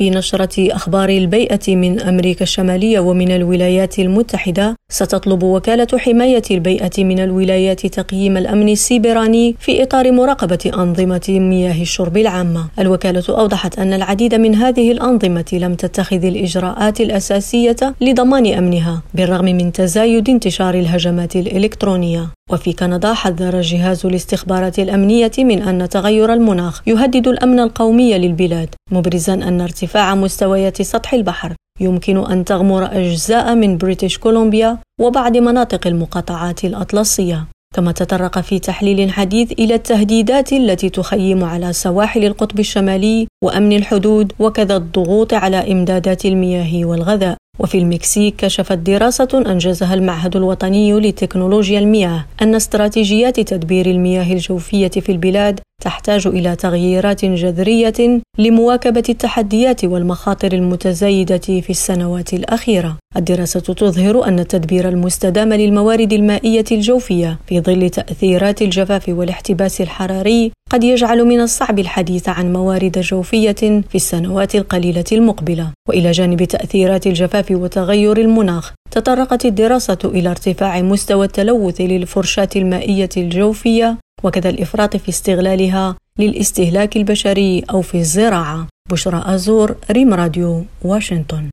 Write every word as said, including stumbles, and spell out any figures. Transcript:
في نشرة أخبار البيئة من أمريكا الشمالية ومن الولايات المتحدة، ستطلب وكالة حماية البيئة من الولايات تقييم الأمن السيبراني في إطار مراقبة أنظمة مياه الشرب العامة. الوكالة أوضحت أن العديد من هذه الأنظمة لم تتخذ الإجراءات الأساسية لضمان أمنها بالرغم من تزايد انتشار الهجمات الإلكترونية. وفي كندا، حذر جهاز الاستخبارات الأمنية من أن تغير المناخ يهدد الأمن القومي للبلاد، مبرزا أن ارتفاع مستويات سطح البحر يمكن أن تغمر أجزاء من بريتش كولومبيا وبعض مناطق المقاطعات الأطلسية. كما تطرق في تحليل حديث إلى التهديدات التي تخيم على سواحل القطب الشمالي وأمن الحدود، وكذا الضغوط على إمدادات المياه والغذاء. وفي المكسيك، كشفت دراسة أنجزها المعهد الوطني لتكنولوجيا المياه أن استراتيجيات تدبير المياه الجوفية في البلاد تحتاج إلى تغييرات جذرية لمواكبة التحديات والمخاطر المتزايدة في السنوات الأخيرة. الدراسة تظهر أن التدبير المستدام للموارد المائية الجوفية في ظل تأثيرات الجفاف والاحتباس الحراري قد يجعل من الصعب الحديث عن موارد جوفية في السنوات القليلة المقبلة. وإلى جانب تأثيرات الجفاف وتغير المناخ، تطرقت الدراسة إلى ارتفاع مستوى التلوث للفرشاة المائية الجوفية، وكذا الإفراط في استغلالها للاستهلاك البشري أو في الزراعة. بشرى أزور، ريم راديو، واشنطن.